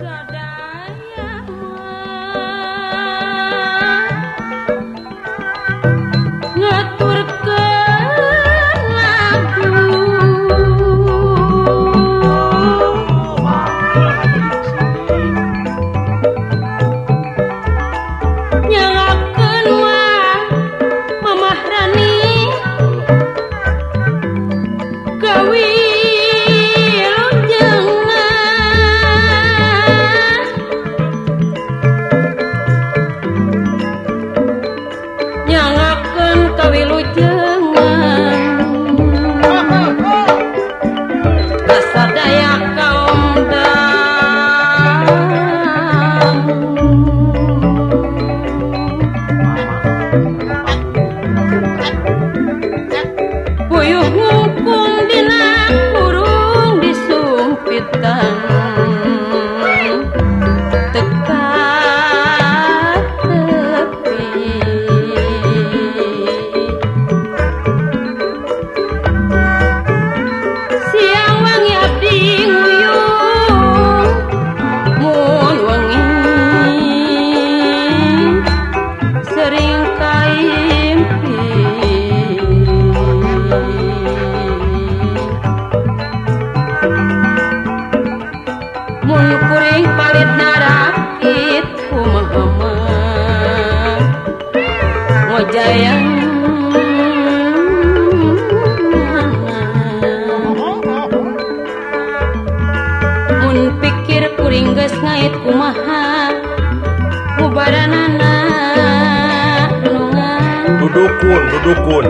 Dudukun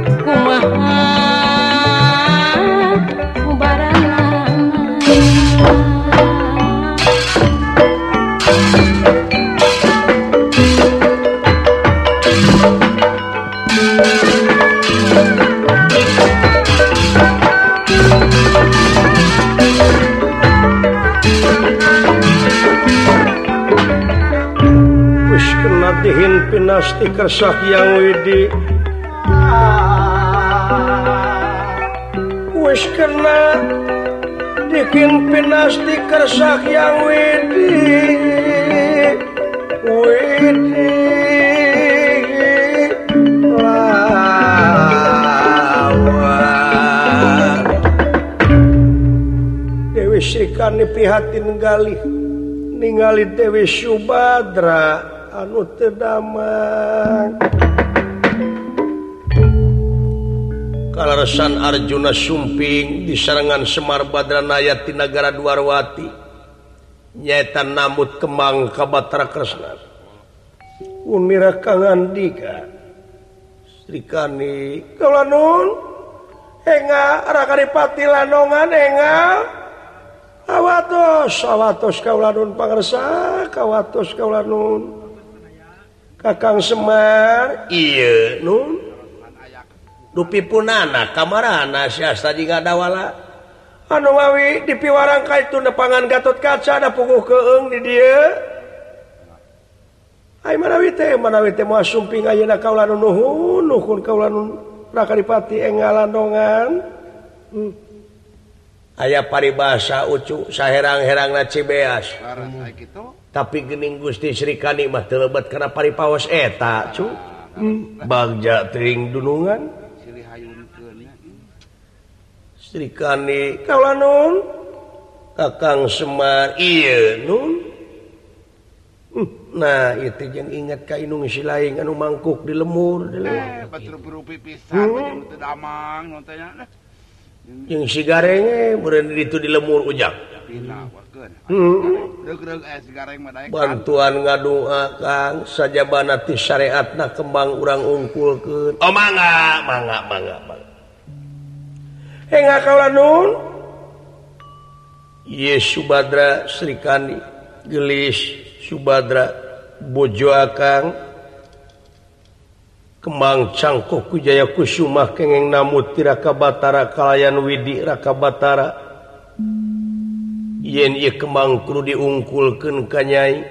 dihin pinasti kersah yang widi wis kena dihin pinasti kersah yang widi lawan Dewi Srikani pihatin ningali Dewi Subadra anu tedamang kalarasan Arjuna sumping di sarangan Semar Badranaya ti nagara Dwarwati nyaeta namut kemang ka Batara Kresna umira kangandika Srikani kaula nun enga Rakaripati Lanongan enga awatos kaula nun pangarsa kawatos kaula nun Kakang Semar iya nun dupi punana kamarana siasta jika dawala anu mawi di piwarang kaitu nepangan Gatot Kaca ada puguh keung di dia ai manawi teh moal sumping ayeuna kaula nuhun kaula Rakaripati enggal Landongan aya paribasa ucu saherang-herangna Cibeas tapi gening Gusti Srikani mah teu lebet kana paripaos eta cu bagja teuing dunungan Srikani kaula nun Kakang Semar ieu nun nah ieu teh jeung inget ka inung silaing anu mangkuk di lemur batur berupi pisan jeung teu damang non teh nya jeung si garenge meureun ditu di lemur ujang bantuan ngadoa Kang sajabana ti syariatna kembang urang ungkulkeun oh mangga enga kaula nun ye Subadra Srikani gelis Subadra bojo akang kembang cangkok Kujaya Kusuma kengeng namut ti Raka Batara kalayan Widi Raka Batara yen ieu kembang kudu diungkulkeun ka Nyai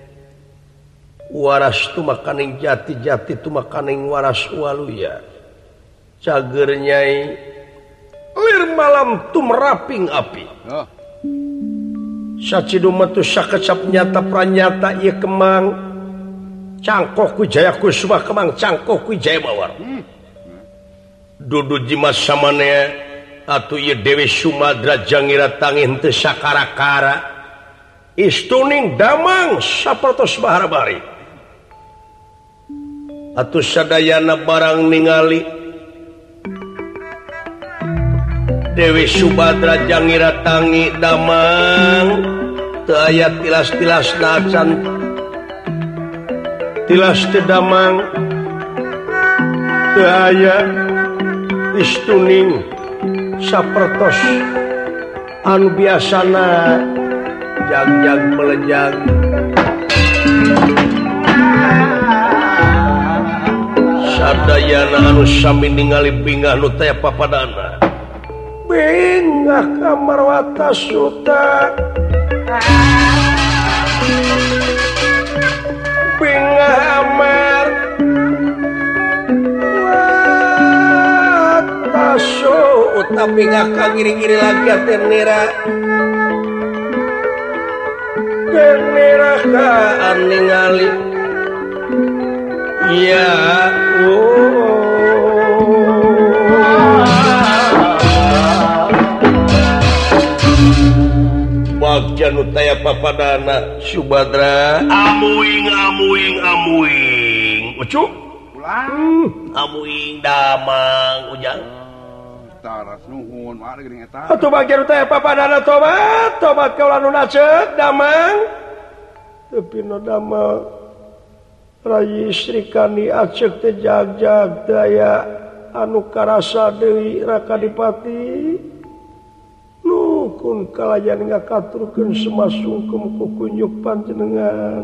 waras tumakaning jati tumakaning waras waluya cager Nyai lir malam tumraping api sacidu metu sakecap nyata pranyata ieu kemang cangkoh ku Jaya Kusuma kemang cangkoh ku Jaya Mawar dudu jimas samane atuh ieu Dewi Sumadra jangira tangih teu sakara-kara istuning damang sapertos baharabari atuh sadayana barang ningali Dewi Sumadra jangira tangi damang teu aya tilas-tilas nacan tilas teu damang teu aya istuning sapertos anu biasana jag-jag melejag sadayana anu sami ningali bingah nu teh papadana bingah kamar watas suta bingah amar watas suta bingah kagiri-giri lagi tenira tenira kaan ningali ya Bagja nu taya papadana Subadra amuing ucu amuing damang ujang taras nuhun mah geuning eta atuh bagja nu taya papadana tobat kaula nu nacet damang tepi nu damang Rayi Srikani acek teh jag-jag daya anu karasa deui Rakadipati nukun kalayan ngakaturkeun semasungkem ku kunjuk panjenengan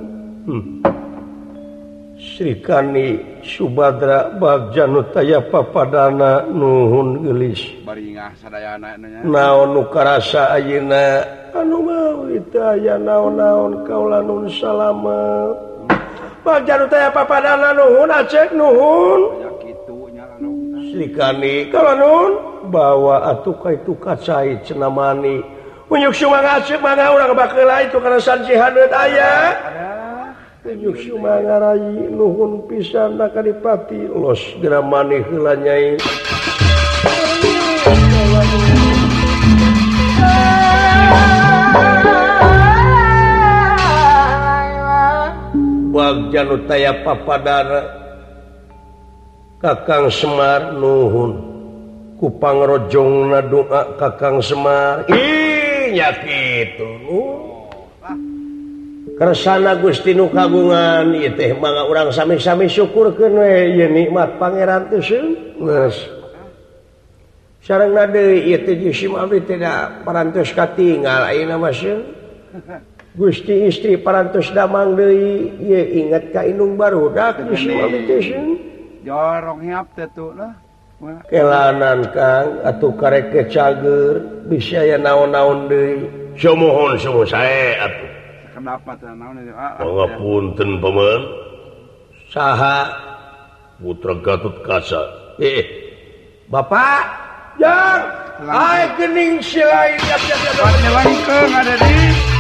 Srikani Subadra bagja nu taya papadana nuhun geulis bari ngah sadayana nya naon nu karasa ayeuna anu mawi teu aya naon-naon kaula nun salamet bagja nu taya papadana nuhun acek nuhun aya kitu nya anu Srikani kaula nun bawa atuh ka itu kacai cenamani unyuk sumanga acek mangga urang bakeula itu kana sanci hadeut aya unyuk sumanga Rayi nuhun pisan Rakadipati los geura maneh heula nyai bagja nu taya papadana Kakang Semar nuhun ku pangrojongna doa Kakang Semar nya kitu kersana Gusti nu kagungan ieu teh mangga urang sami-sami syukurkeun we ieu nikmat pangeran teh geus sarengna deui ieu teh jisim abdi teh da parantos katinggal ayeuna mah Gusti istri parantos damang deui ieu inget ka indung barudak jisim abdi teh jorong hiap teh tuh lah kelanan Kang atuh karek kecager bisa aya naon-naon deui samohon samoh sae atuh kenapa teh naon pangapunten paman saha putra Gatut Kaca Bapak jang ai geuning silain nyelengkeung ada di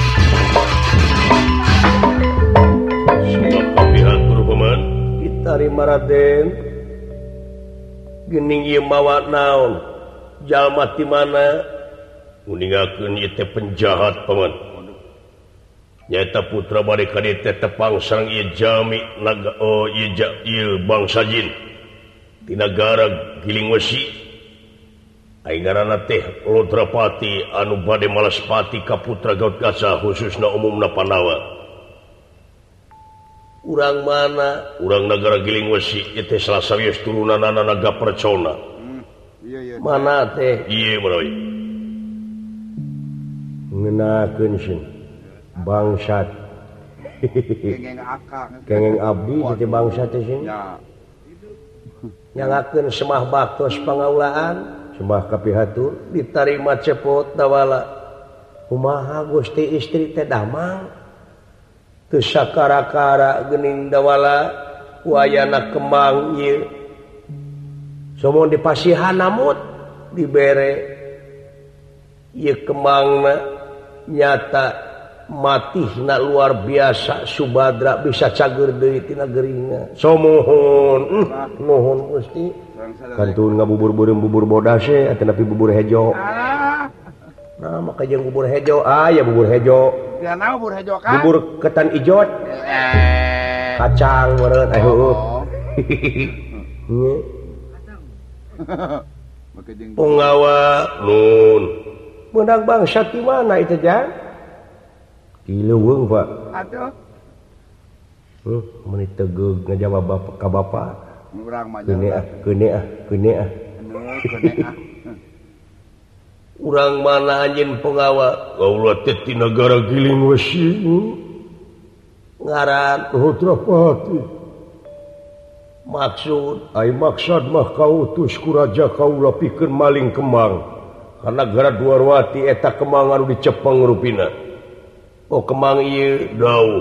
sebab kapihatur paman ditarima Raden geuning ieu mawa naon jalma ti mana nguningakeun ieu teh penjahat paman nyaeta putra bade ka dieu teh tepang sareng ieu jami naga ieu bangsa jin ti nagara Giling Wesi ai ngaranna teh Lodrapati anu bade malaspati ka putra Gatut Kaca khususna umumna Pandawa urang mana urang nagara Giling Wesi ieu teh salah sawios turunanna Naga Percona mana teh ieu meroy ngeunakeun sieun bangsat kengeng abdi jadi bangsa teh sieun nyangakeun semah baktos pangaulaan sembah kapihatur ditarima cepot dawala kumaha Gusti istri teh damang teu sakara-kara geuning dawala wayana kembang ieu somo dipasihan namut dibere ieu kembangna nyata mati luar biasa Subadra bisa cager deui tina geuringa somohon nuhun Gusti kantun ngabubur-bureum bubur bodas atuh nepi bubur hejo nah maka jeung bubur hejo ya bubur hejo Gana bubur hejo kan bubur ketan ijot kacang meureun heueuh Punggawa nun menang bangsa di mana itu Jang? Di Leuweung Pak. Aduh. Menit tegeg ngajawab ka bapak. Urang mah Keune ah. Urang mana anjeun Punggawa? Kaula teh ti negara Giling Wesi. Ngaran Rudrapati. Maksud mah kautus ku raja kaula pikeun maling kemang karena gara Dwarwati eta kemang anu dicepeng rupina kemang ieu dauh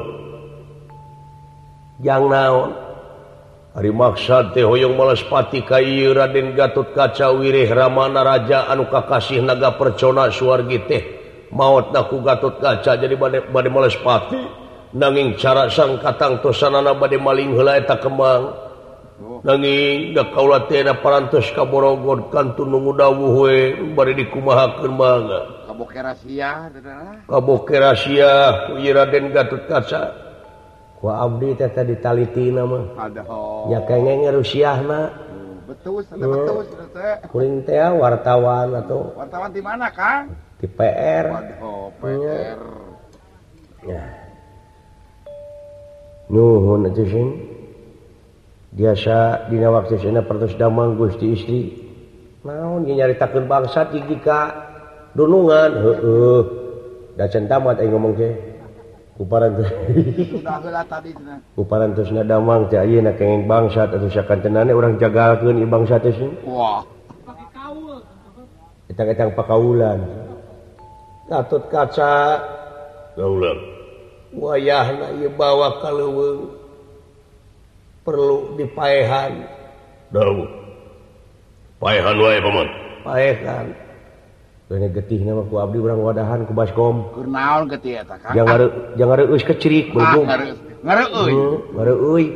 jang naon ari maksad teh hoyong Malespati ka ieu Raden Gatotkaca wirih ramana raja anu kakasih naga percona suwargi teh maotna ku Gatotkaca jadi bade Malespati nanging cara sang katang tosanana bade maling heula eta kemang nanging da kaula teh na parantos ka Borogod kantun nunggu dawuh we bari dikumahakeun mangga kaboke rahasia ku Raden Gatotkaca ku abdi teh ditalitina mah nya kengeng rusiahna betul kuring teh wartawan atuh wartawan di mana Kang di PR PR ya nuhun atuh sing biasa dina waktu sana pertos damang Gusti istri naon nyaritakeun bangsa tinggi ka dunungan heueuh da can tamat aing ngomong teh ku parantos sudah heula tadi cenah ku parantosna damang teh ayeuna kenging bangsa atuh sakanteunana urang jagalkeun ieu bangsa teh wah eta-eta pakaulan Gatotkaca gaulang wayahna ieu bawa ka Leuweung perlu dipaehan dawuh paehan wae paman paehan kene getihna mah ku abdi urang wadahan ku baskom keur naon getih eta Kang jang ngareus kecirik beulung ngareeuy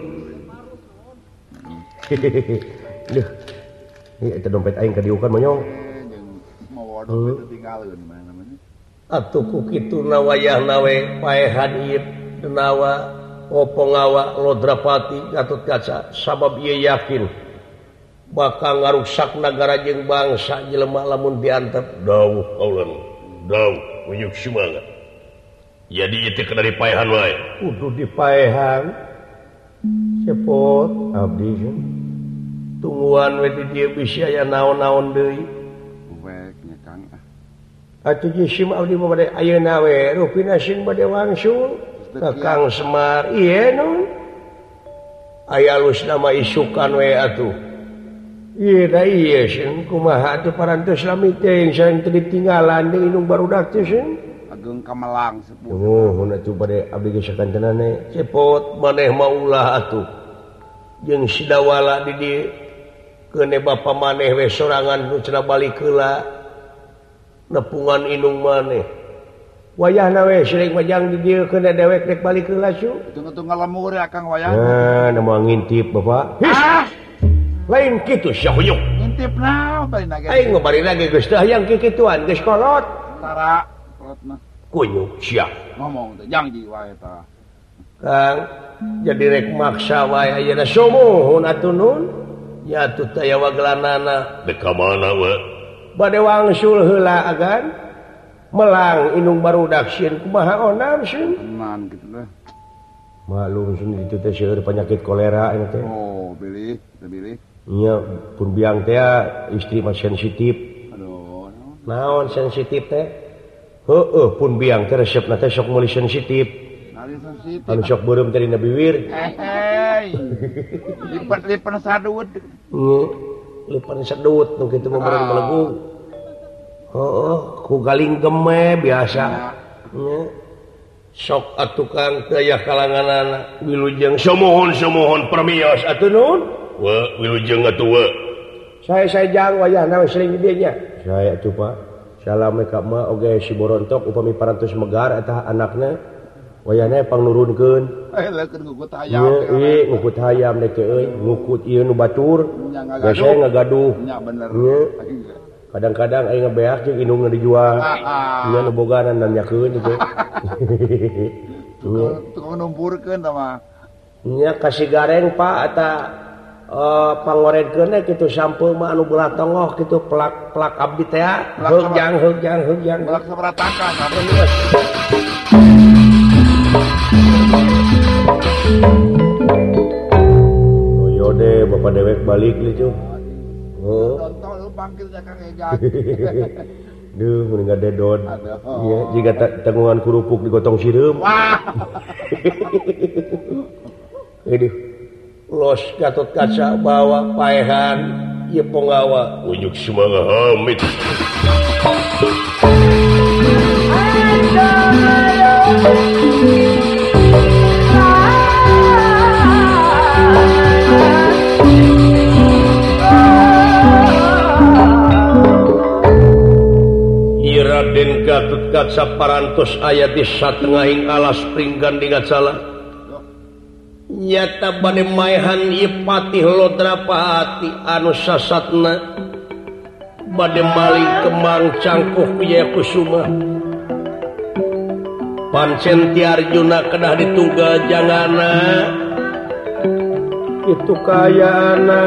duh ieu eta dompet aing kadiukan monyong mau dompet tinggalkeun mana namanya atuh ku kituna wayahna we paehan ieu denawa Punggawa Lodrapati Gatotkaca sabab ieu yakin bakal ngarusak nagara jeung bangsa jelema lamun diantep dawuh kaulan dawuh unyuk semangat jadi ieu teh dari paehan wae kudu dipaehan cepot abdi tungguan we di dieu bisi aya naon-naon deui wek nya Kang atuh jisim abdi mah bade ayeuna we rupina sing bade wangsul Kakang Semar ieu nun aya alus nama isukan we atuh ieu da ieu sing kumaha atuh parantos lami teh sareng teu ditinggalan deui inung barudak teh sing Ageng Kamelang sepuh nuhun atuh bade abdi ge sakanteunana cepot maneh mah ulah atuh jeung sidawala di dieu keune bapa maneh we sorangan nu cenah balik heula nepungan inung maneh wayahna we sering majang di dieu keuna dewek rek balik heula su tunggu ngalemur ya Kang wayahna nah moal ngintip Bapak lain kitu syahyuk ngintip naon bari nage aing bari nage geus teh hayang kikituan geus kolot tara kolot mah kunyuk sia ngomong teh janji wae tah Kang jadi rek maksa wae ayeuna somohon atuh nun nya atuh teh aya wagelanana dek ka mana we bade wangsul heula agan melang inung barudak sieun kumaha onam sieun tenan kitu teh malum sieun ditu teh seueur penyakit kolera ieu teh oh bilih nya pun biang teh istri mah sensitif aduh naon sensitif teh heueuh pun biang teh resepna teh sok meuli sensitif nari sensitif anu sok beureum teh dina bibir lipat sadut lipat sadut nu kitu mah bareng melegung ku galing geme biasa sok atuh Kang teu aya kalanganana wilujeng somohon permios atuh nun wilujeng atuh we saya jang wayahna sering di dieu nya saya atuh Pak salam ka mah oge si borontok upami parantos megar eta anakna wayahna pang nurunkeun leukeun ngukut hayam ngukut hayam deh euy ngukut ieu nu batur biasa ngagaduh nya bener kadang-kadang aya ngabeak jeung indungna dijual nya nu boganan dan nyakeun itu tukang numpurkeun tah mah nya kasih gareng Pak eta pangoredkeun kitu sampeu mah anu belah tongoh kitu pelak abdi teh heugjang belak sabaratakan yode bapak dewek balik gitu nonton lu panggilnya Kang Ejak duh mun ngadedod iya jika tanggungan kurupuk digotong sireum wah aduh los Gatot Kaca bawa paehan ieu ponggawa ujuk semangat hamid Raden Gatot Kaca parantos aya di satengahing alas pringgan dingacala nyata bade maehan ieu patih Lodrapati anu sasatna bade maling kemang cangkuh Wijaya Kusuma pancen ti Arjuna kedah ditunggal jangana itu kayaana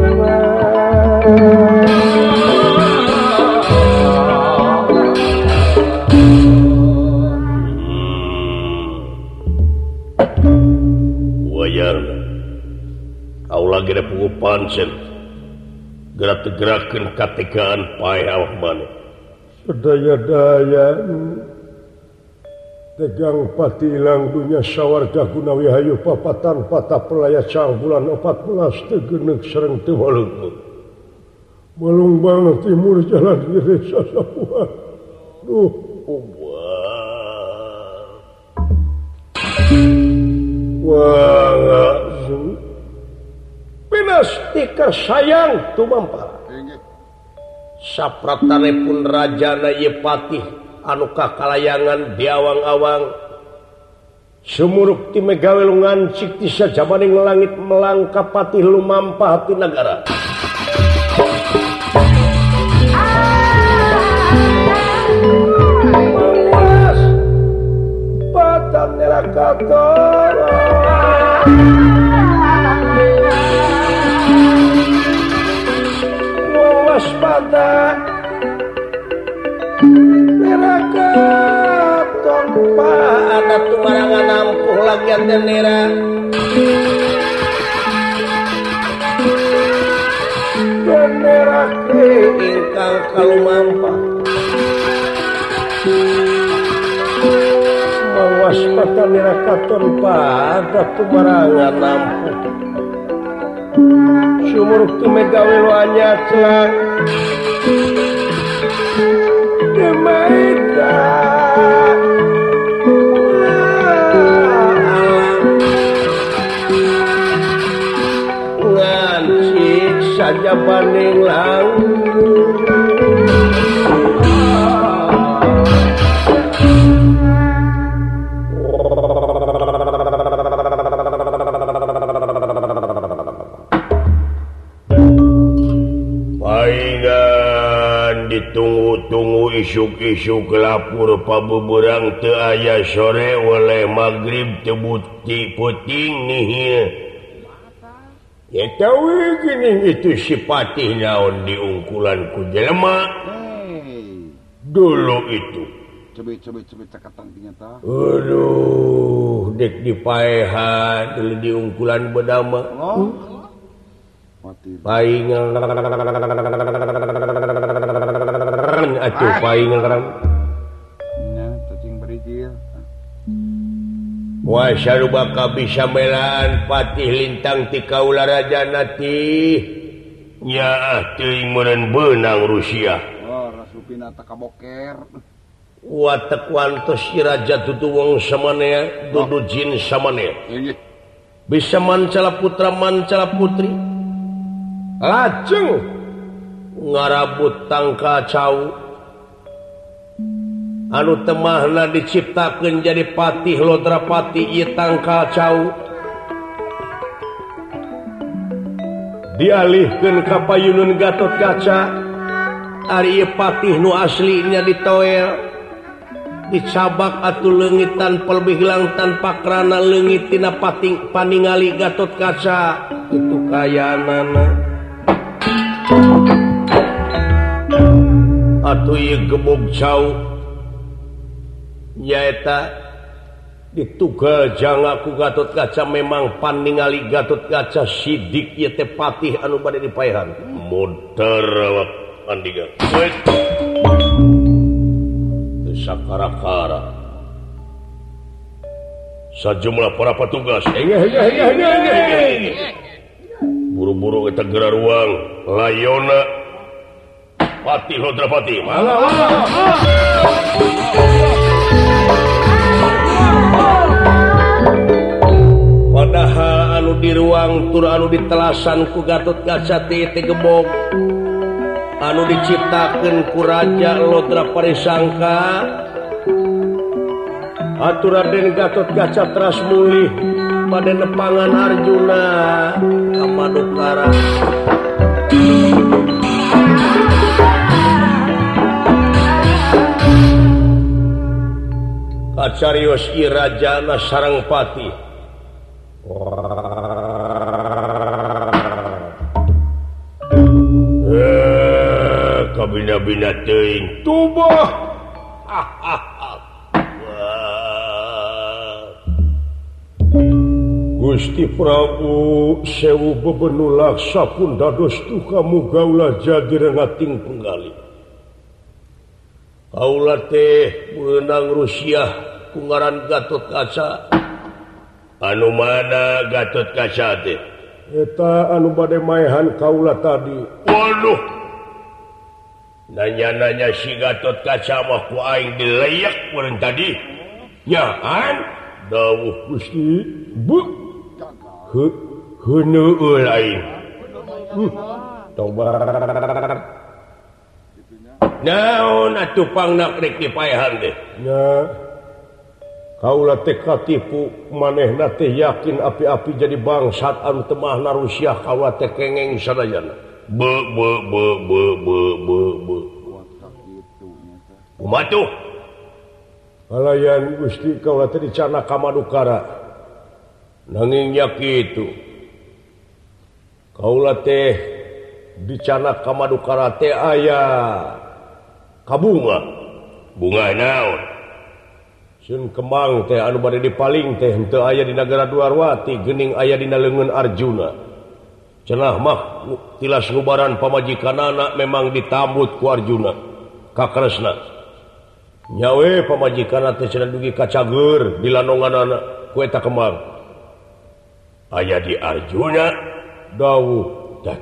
Aula gede pugu pancen gerak-gerakeun kategaan paeh awak maneh sedaya-daya tegang pati ilang dunya sawarga gunawi hayu papatan patah pelaya cang bulan 14 teu geuneuh sareng teu waleukeun malungbang timur jalan gede sasapuan duh wah pinastikar sayang tumampa sapratanepun rajana ieu patih anu kakalayangan diawang-awang sumuruk ti megawe lungancik ti sajabaning langit melangkah patih lumampah ti nagara mawas patan nerakator waspada neraka tompa ada tumarangan ampuh lagian denera denera ingkang kalumampa mawaspada neraka tompa ada tumarangan ampuh sumuruk tu megawe lo anyatla demaida ngancik saja banding langgung ditunggu-tunggu isuk-isuk lapur pabuburang teu aya sore oleh magrib teu bukti puting nih ya tahu gini itu si patih naon diungkulan ku jelema dulu itu coba cakatan ternyata aduh dek dipaehan dulu diungkulan bedama paingan atuh paingan nya cacing berijil wa sarubaka bisa melaan patih lintang ti kaula rajana ti nya teuing meureun beunang Rusia rasupina teh kaboker wa tekwantos si raja tutuwung samanea dudu jin samanea bisa mancala putra mancala putri lajeng ngarabut tangka cau anu temahna diciptakeun jadi patih Lodrapati ieu tangkal cau dialihkeun ka payunun Gatotkaca ari ieu patih nu aslinya ditoel dicabak atuh leungit tanpa lebih hilang tanpa krana leungit tina paningali Gatotkaca itu kayanana atuh ieu gebog cau nyaeta ditugal janga ku Gatotkaca memang paningali Gatotkaca sidik ieu teh patih anu bade dipaehan modar andiga sakara-kara sajumlah para petugas buru-buru kita gerak ruang layona Patih Lodrapati padahal anu di ruang tur anu ditelasan ku Gatotkaca teh gebog anu diciptakeun ku Raja Lodra Parisangka atur Raden Gatotkaca teras mulih pada nepangan Arjuna ka Madukara kacarios ieu rajana sareng patih kabina-bina teuing tubah Gusti Prabu sewu bebenul laksa pun dados tuh kamu gaulah jadi rengating penggali kaula teh beunang Rusia kungaran Gatotkaca anu mana Gatotkaca teh eta anu bade maehan kaula tadi waduh nanya-nanya si Gatotkaca mah ku aing dileyak urang tadi nyaan dawuh Gusti bu heuneul aing tobat naon atuh pangna rek dipaehan teh nya kaula teh katipu manehna teh yakin api-api jadi bangsat anu teu mahna Rusia kaula teh kengeng sadayana kumatuh kalayan Gusti kaula teh dicana ka Madukara nanging nya kitu kaula teh dicana ka Madukara teh aya kabunga bunga naon sun kembang teh anu bade dipaling teh henteu aya di nagara Dwarwati geuning aya dina leungeun Arjuna cenah mah tilas ngubaran pamajikanana memang ditambut ku Arjuna ka Kresna nyawe pamajikanana teh cenah dugi ka cager di lanonganana ku eta kembang aya di Arjuna dawuh dah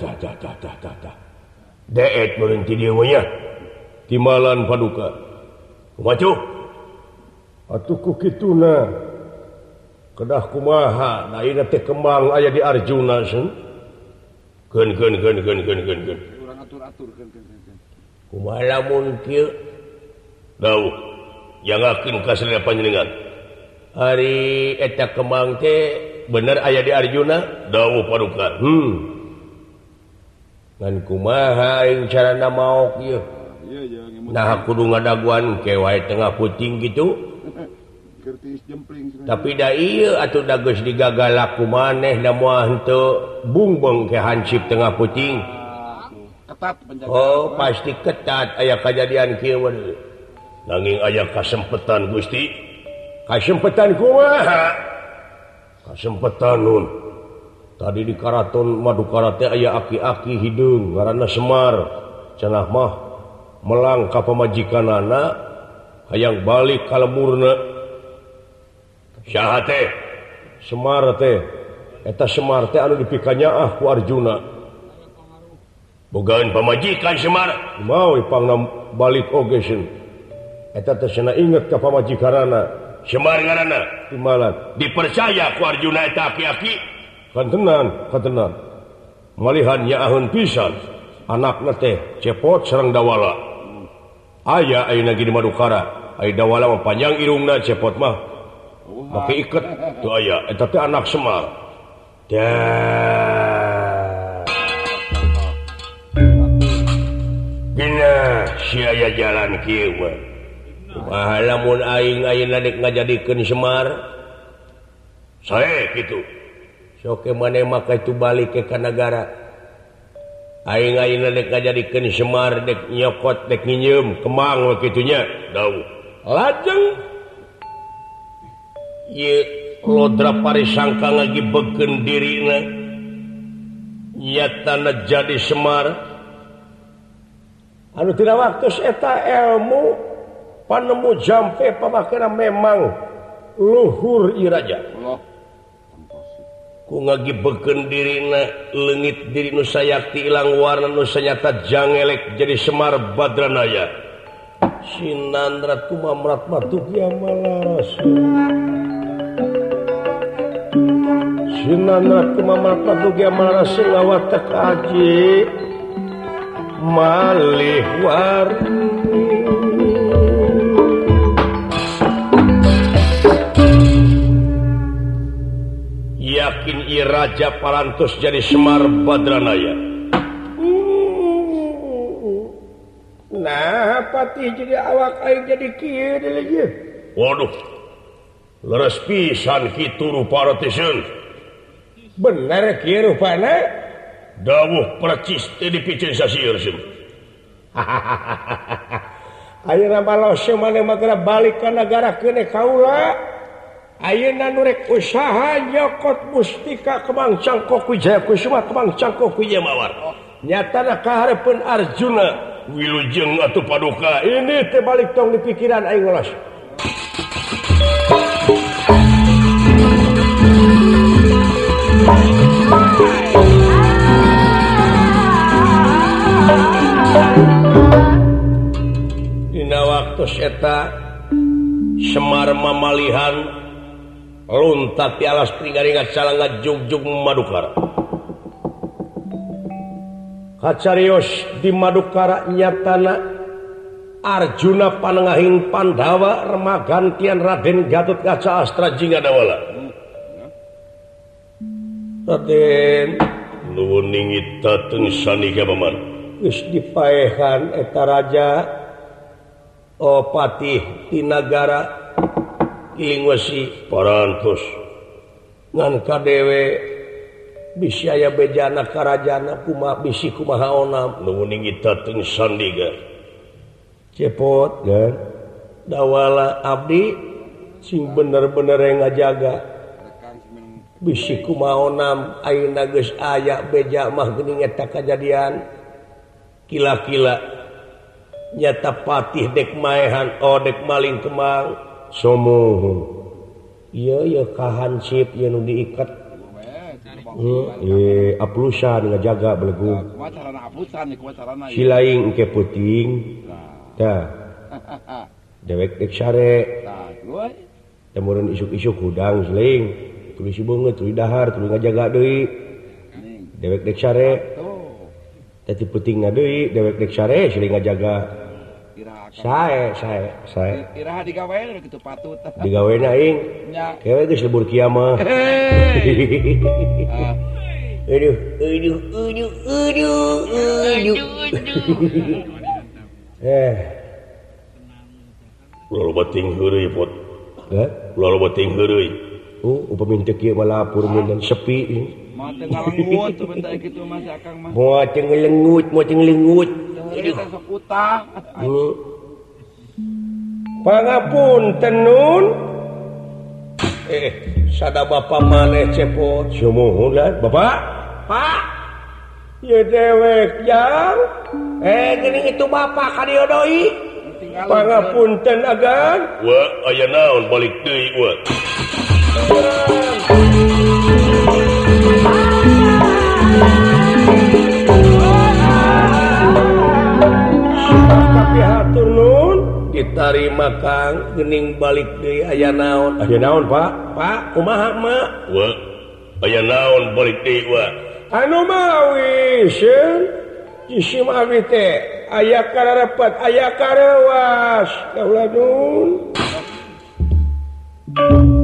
deet meureun ti dieu nya timalan paduka kumaha atuh ku kituna kedah kumaha da ieu teh kembang aya di Arjuna sun keun urang atur kumaha lamun kieu dawuh jangakeun ka sadaya panjenengan ari eta kembang teh bener aya di Arjuna dawuh paduka ngan kumaha aing carana maok ieu nah kudu ngadaguan ke wae tengah puting gitu tapi da ieu atuh da geus digagalak ku maneh da moal henteu bungbeng ke hansip tengah puting ketat penjagaan oh pasti ketat aya kajadian kieu nanging aya kasempetan Gusti kasempetan kumaha kasempetan nun tadi di Karaton Madukara teh aya aki-aki hideung ngaranna Semar cenah mah melang ka pamajikanana hayang balik ka lemurna saha teh Semar teh eta Semar teh anu dipikanyaah ku Arjuna bogaan pamajikan Semar mau ipangna balik oge sun eta teh cenah inget ka pamajikanana Semar ngaranna timalan dipercaya ku Arjuna eta aki-aki kan tenan malihan nyaaheun pisan anakna teh cepot sareng dawala aya ayeuna di Madukara Aida wala panjang irungna cepot mah. Make iket tuh aya eta teh anak Semar. Dah. Gina sia jalan kieu mah. Kumaha lamun aing ayeuna dek ngajadikeun Semar? Sae kitu. Sok maneh mah itu balik ke negara. Aing ayeuna dek ngajadikeun Semar dek nyokot dek nginyeum kemang kitu nya. Dawuh. Lajeng ye lodra parisangka ngagibegkeun dirina nyatana jadi Semar anu tina waktu eta ilmu panemu jampe pamakena memang luhur ieu raja ku ngagibegkeun dirina leungit diri nu sayakti ilang warna nu sanyata jangelek jadi Semar Badranaya sinandrat kumamrat matukia malaras sinandrat kumamrat matukia malaras ngawat kaji malih warni yakin ieu raja parantos jadi Semar Badranaya. Nah, pati jadi awak aing jadi kieu deui ieu. Waduh. Leres pisan kitu rupa rateun. Bener kieu rupana. Dawuh percis teh dipikeun sasieur sim. Ayeuna balose maneh mah balik ka nagara keune kaula. Ayeuna nu rek usaha nyokot mustika Kemang Cangkok Wijaya Kusuma Kemang Cangkok Wijaya Mawar. Nyatana kaharepeun Arjuna wilujeng atuh paduka ini teh balik tong di pikiran aing ngolos. Dina waktu eta Semar mamalihan luntat di alas pringgaringat calanga jugjug Madukara. Kacarios di Madukara nyatana Arjuna panengahing Pandawa remagantian Raden Gatot Kaca Astra Jingadawala. Raden nuwun ningit dateng sanika paman. Geus dipaehan eta raja Patih di nagara Kilingwesi parantos ngan kadewe bisi aya bejana karajana kumaha bisi kumaha onam nuwun ningit dateng sandiga cepot kan dawala abdi sing bener-bener ngajaga bisi kumaha onam ayeuna geus aya beja mah geuning eta kajadian kila-kila nyata patih dek maehan dek maling kemang somoh ieu kahansip ieu nu diikat aplusan ngajaga belegu silaing engke puting tah dewek dek sare teh meureun isuk-isuk hudang silaing tuluy si beungeut tuluy dahar tuluy ngajaga deui dewek dek sare teh ti putingna deui dewek dek sare silaing ngajaga sae iraha digawean kitu patut digawean aing kewe geus lebur kiamah aduh ulah bating heureuy pot ulah bating heureuy upami teu kieu mah lapur mun sepi mah teu ngalengut tuh bentar kitu mah sakang mah moal teu ngelengut eta sok utah pangapunten nun sada bapa maneh cepot sumuhun lah bapak pak ieu dewek jang geuning itu bapak ka dieu deui pangapunten agan wa aya naon balik deui wa tapi hatur nun ditarima Kang geuning balik deui aya naon pak kumaha mak wa aya naon balik deui wa anu mah wisieun isim abdi teh aya kararepat aya karewas kaulah nun